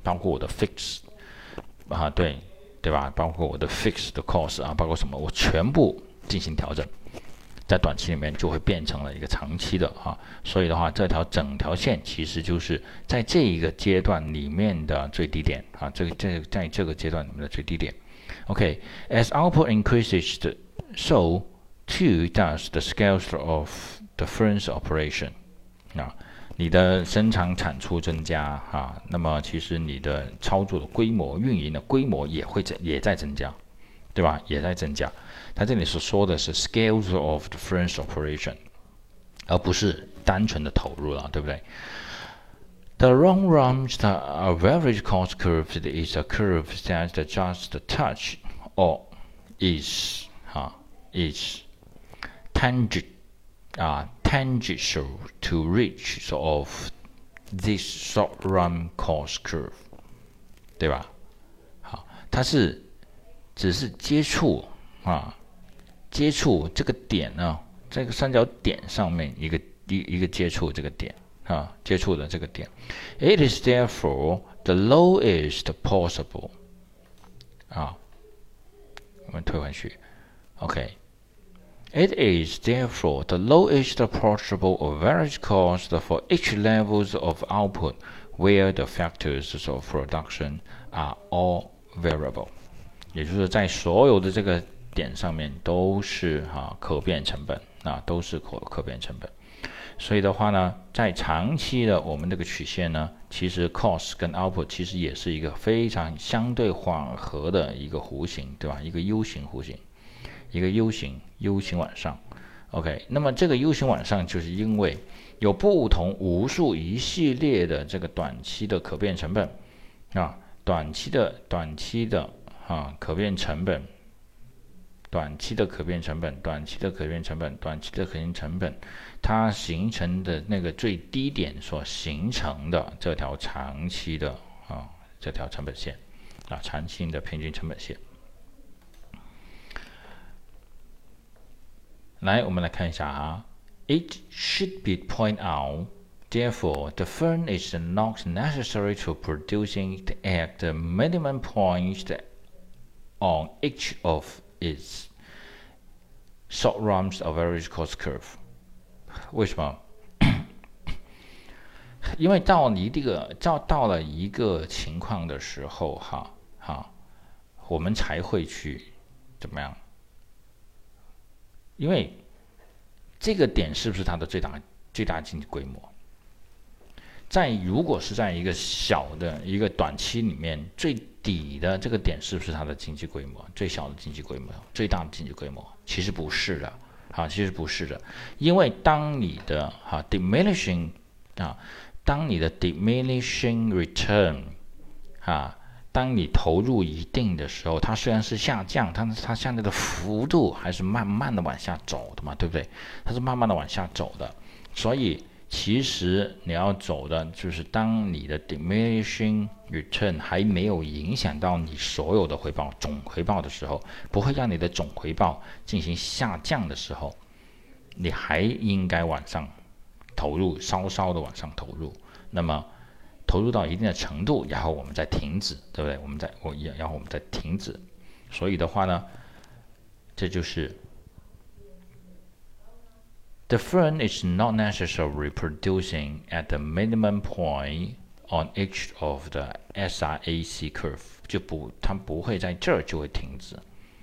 包括我的 fix 啊，对吧？包括我的 fix 的 cost 啊，包括什么，我全部进行调整，在短期里面就会变成了一个长期的啊。所以的话，整条线其实就是在这一个阶段里面的最低点啊，在这个阶段里面的最低点。OK，as output increases, so too does the scales of the firm's operation 啊。你的生产产出增加啊，那么其实你的操作的规模、运营的规模也在增加，对吧？也在增加。它这里所说的是 scales of the firm's operation， 而不是单纯的投入了，对不对？The long run average cost curve is a curve that just a touch or is tangential to reach of this short run cost curve， 对吧？好，它只是接触这个点呢，这个三角点上面一个接触这个点啊，接触的这个点。It is therefore the lowest possible 啊，我们退回去 ，OK。It is therefore the lowest possible average cost for each levels of output where the factors of production are all variable。也就是在所有的这个点上面都是可变成本啊，都是可变成本。所以的话呢，在长期的我们这个曲线呢，其实 cost 跟 output 其实也是一个非常相对缓和的一个弧形，对吧？一个 U 型弧形，一个 U 型往上。OK， 那么这个 U 型往上，就是因为有不同无数一系列的这个短期的可变成本啊，短期的可变成本。短期的可变成本，它形成的那个最低点所形成的这条长期的这条成本线啊，长期的平均成本线。来，我们来看一下It should be pointed out, therefore, the firm is not necessary to producing at the minimum point on each of its short runs average cost curve。 为什么？因为到了一个情况的时候我们才会去怎么样？因为这个点是不是它的最大经济规模？如果是在一个小的一个短期里面，最底的这个点是不是它的经济规模？最小的经济规模，最大的经济规模？其实不是的，其实不是的，因为当你的diminishing return 当你投入一定的时候，它虽然是下降，但是它下降的幅度还是慢慢的往下走的嘛，对不对？它是慢慢的往下走的，所以其实你要走的就是当你的 diminishing return 还没有影响到你所有的回报总回报的时候，不会让你的总回报进行下降的时候，你还应该往上投入，稍稍的往上投入，那么投入到一定的程度，然后我们再停止，对不对？然后我们再停止。所以的话呢，这就是The firm is not necessarily producing at the minimum point on each of the SRAC curve， 它不会在这儿就会停止，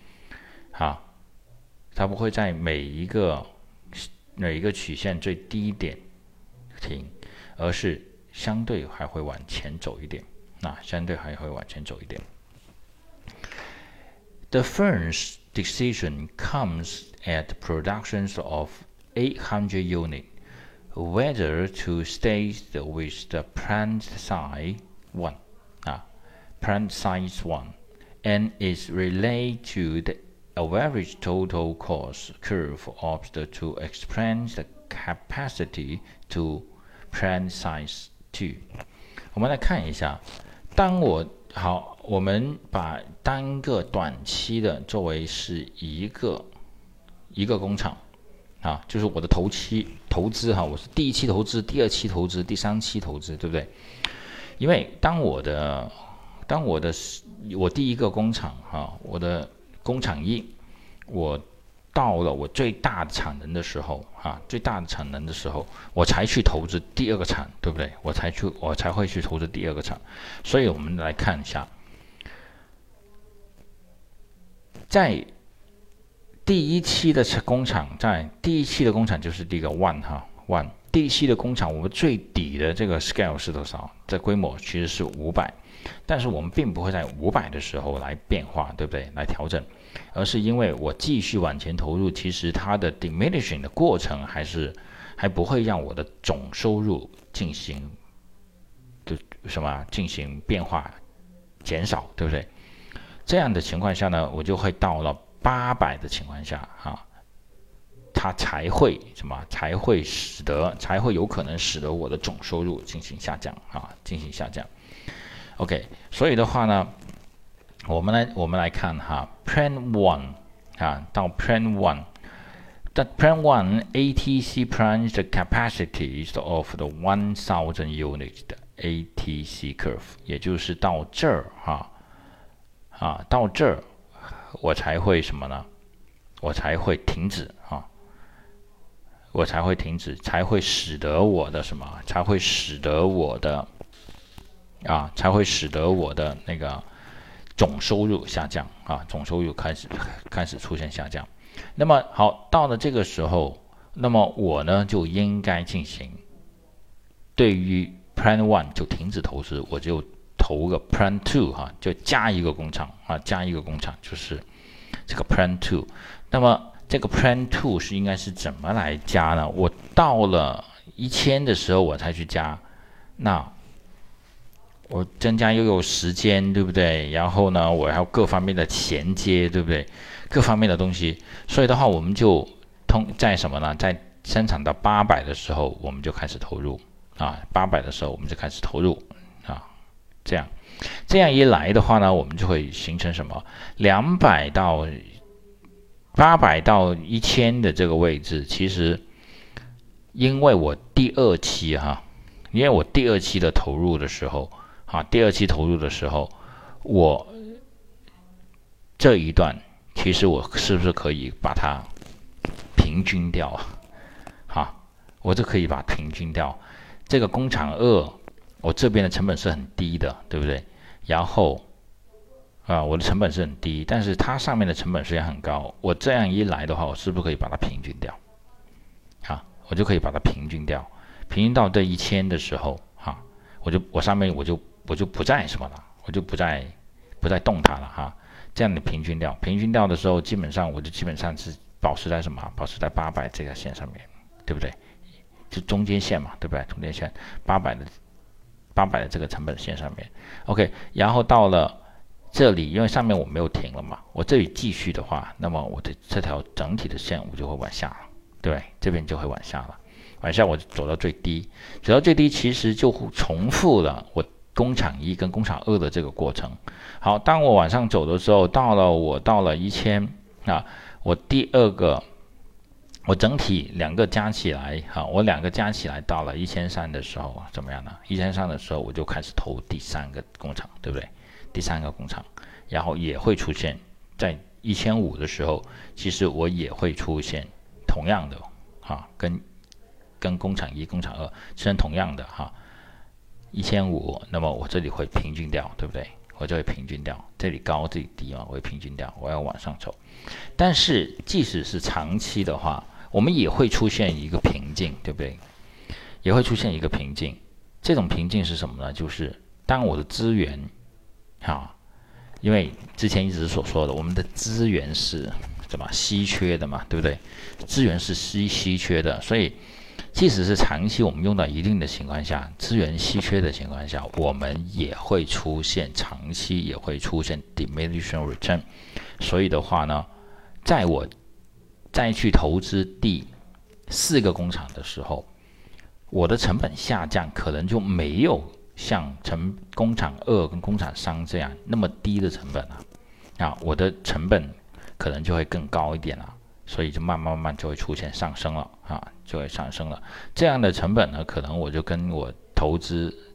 它不会在每一个曲线最低点停，而是相对还会往前走一点，The firm's decision comes at productions of 800 units, whether to stay with the plant size 1, and is related to the average total cost curve of the to expand the capacity to plant size 2。 我们来看一下，我们把单个短期的作为是一个工厂就是我的投资我是第一期投资、第二期投资、第三期投资，对不对？ 因为我第一个工厂我的工厂1，我到了我最大的产能的时候我才去投资第二个厂，对不对？我才会去投资第二个厂。所以我们来看一下，在第一期的工厂就是第一个 one， 第一期的工厂，我们最底的这个 scale 是多少？这规模其实是500，但是我们并不会在500的时候来变化，对不对？来调整，而是因为我继续往前投入，其实它的 diminishing 的过程还不会让我的总收入进行变化减少，对不对？这样的情况下呢，我就会到了800的情况下它才会有可能使得我的总收入进行下降。OK， 所以的话呢，我们来看Plan 1到 Plan 1。That Plan 1 ATC plans the capacities of the 1000 units 的 ATC curve， 也就是到这儿到这儿我才会什么呢？我才会停止才会使得我的那个总收入下降总收入开始出现下降。那么好，到了这个时候，那么我呢就应该进行对于 Plan 1就停止投资，我就投个 Plan 2就加一个工厂就是这个 Plan 2。那么这个 Plan 2是应该是怎么来加呢？我到了1000的时候我才去加，那我增加又有时间，对不对？然后呢，我还有各方面的衔接，对不对？各方面的东西，所以的话，我们就在什么呢？在生产到800的时候，我们就开始投入800的时候我们就开始投入这样一来的话呢，我们就会形成什么？800到1000的这个位置，其实因为我第二期的投入的时候我这一段其实我是不是可以把它平均掉我就可以把它平均掉。这个工厂2我这边的成本是很低的，对不对？然后我的成本是很低，但是它上面的成本虽然很高，我这样一来的话，我是不是可以把它平均掉？我就可以把它平均掉，平均到这1000的时候我上面我就不再什么了，我就不再动它了这样的平均掉的时候，基本上是保持在什么？保持在800这条线上面，对不对？就中间线嘛，对不对？中间线800的这个成本线上面 ，OK。然后到了这里，因为上面我没有停了嘛，我这里继续的话，那么我的这条整体的线我就会往下了，对不对？这边就会往下了，往下我走到最低，其实就重复了我工厂1跟工厂2的这个过程。好，当我往上走的时候，到了1000我第二个，我整体两个加起来到了1300的时候怎么样呢？1300的时候我就开始投第3个工厂，对不对？第3个工厂，然后也会出现在1500的时候，其实我也会出现同样的跟工厂1、工厂2是同样的1500，那么我这里会平均掉，对不对？我就会平均掉，这里高这里低我会平均掉，我要往上走。但是即使是长期的话，我们也会出现一个瓶颈，对不对？也会出现一个瓶颈。这种瓶颈是什么呢？就是当我的资源因为之前一直所说的，我们的资源是怎么稀缺的嘛，对不对？资源是稀缺的，所以即使是长期我们用到一定的情况下，资源稀缺的情况下，我们也会出现长期也会出现 diminishing return。 所以的话呢，在我再去投资第4个工厂的时候，我的成本下降可能就没有像工厂2跟工厂3这样那么低的成本我的成本可能就会更高一点所以就慢慢就会出现上升了这样的成本呢，可能我就跟我投资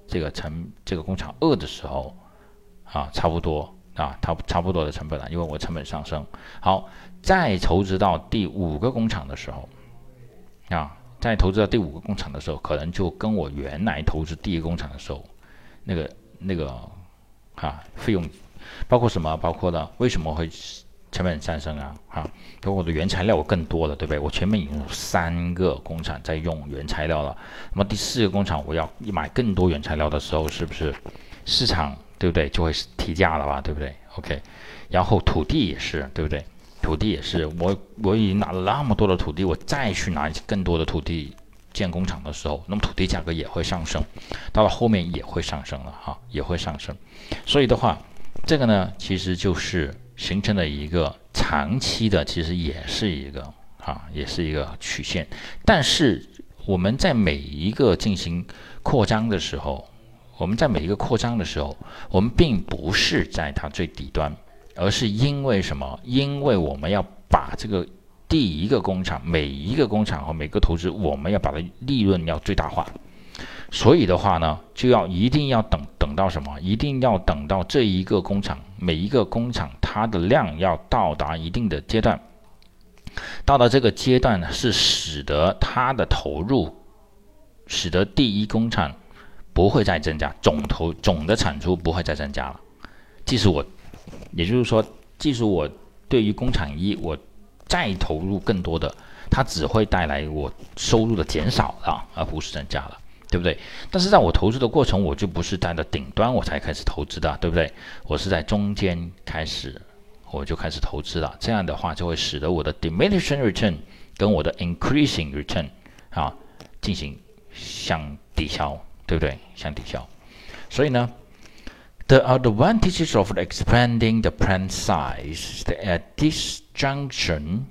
这个工厂2的时候啊，差不多啊，差不多的成本了，因为我成本上升。好，再投资到第5个工厂的时候啊，可能就跟我原来投资第1个工厂的时候那个费用包括什么？包括了为什么会成本上升啊？包括我的原材料更多了，对不对？我前面已经有3个工厂在用原材料了，那么第4个工厂我要买更多原材料的时候，是不是市场对不对就会提价了吧？对不对 ？OK， 然后土地也是，对不对？土地也是，我已经拿了那么多的土地，我再去拿更多的土地建工厂的时候，那么土地价格也会上升，到了后面也会上升了也会上升。所以的话，这个呢，其实就是形成了一个长期的，其实也是一个曲线。但是我们在每一个进行扩张的时候，我们并不是在它最底端，而是因为什么？因为我们要把这个第一个工厂，每一个工厂和每个投资，我们要把它利润要最大化。所以的话呢，一定要等到什么？一定要等到这一个工厂，每一个工厂它的量要到达一定的阶段，到了这个阶段呢，是使得它的投入，使得第一工厂不会再增加，总的产出不会再增加了。也就是说，即使我对于工厂1我再投入更多的，它只会带来我收入的减少了，而不是增加了。对不对？但是在我投资的过程，我就不是在顶端我才开始投资的，对不对？我是在中间我就开始投资了。这样的话，就会使得我的 diminishing return 跟我的 increasing return 进行相抵消，对不对？相抵消。所以呢 ，the advantages of expanding the plant size at this juncture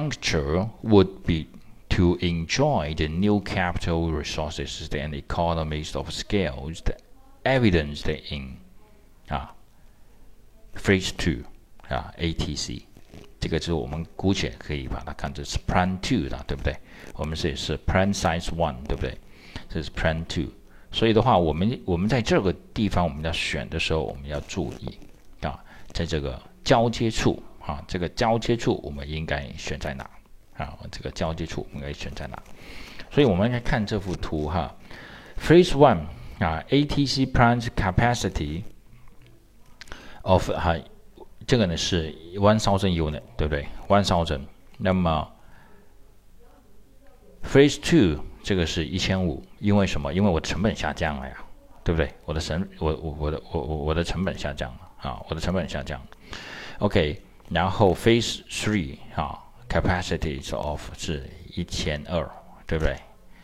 would be to enjoy the new capital resources and economies of scale evidenced in Phase 2 ATC， 这个就是我们姑且可以把它看作是 Plan 2的，对不对？我们是 Plan Size 1，对不对？这是 Plan 2。所以的话，我们在这个地方我们要选的时候，我们要注意在这个交接处这个交接处我们应该选在哪？这个交接处应该选在哪？所以我们来看这幅图Phase 1 ATC plant capacity of 这个呢是1000 unit， 对不对？1000。那么 Phase 2这个是1500，因为什么？因为我的成本下降了呀，对不对？我的成本下降了我的成本下降了。OK， 然后 Phase 3capacity of 是1200，对不对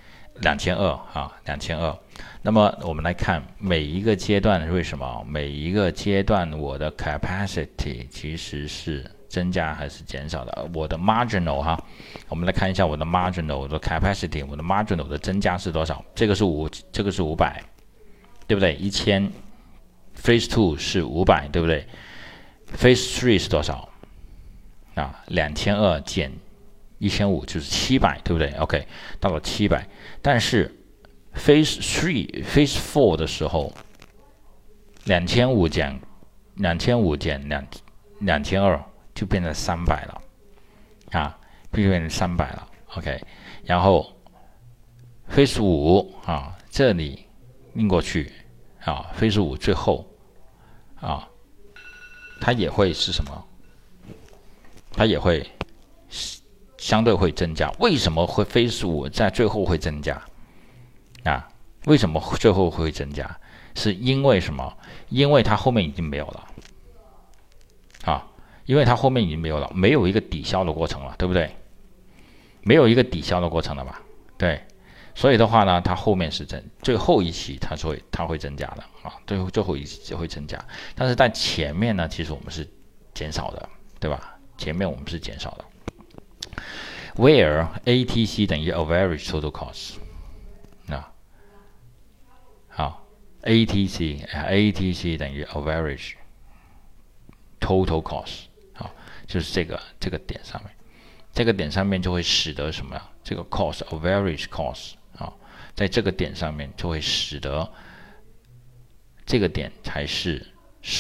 ？2200那么我们来看每一个阶段，为什么每一个阶段我的 capacity 其实是增加还是减少的？我的 marginal 我们来看一下我的 marginal， 我的 capacity， 我的 marginal 的增加是多少？这个是500，对不对？1000 Phase 2是500，对不对？Phase 3是多少？2200减1500就是700，对不对 ？OK， 到了700，但是 Phase 4的时候，2500减2200就变成300了就变成300了 ，OK， 然后 Phase 5这里印过去Phase 5最后它也会是什么？它也会相对会增加。为什么会Phase 5在最后会增加为什么最后会增加？是因为什么？因为它后面已经没有了因为它后面已经没有了，没有一个抵消的过程了，对不对？没有一个抵消的过程了吧？对，所以的话呢，它后面是最后一期它会增加的最后一期会增加，但是在前面呢，其实我们是减少的，对吧？前面我们是减少的。Where ATC 等于 average total cost ATC 等于 average total cost 就是这个点上面，这个点上面就会使得什么呀？这个 cost average cost 在这个点上面就会使得这个点才是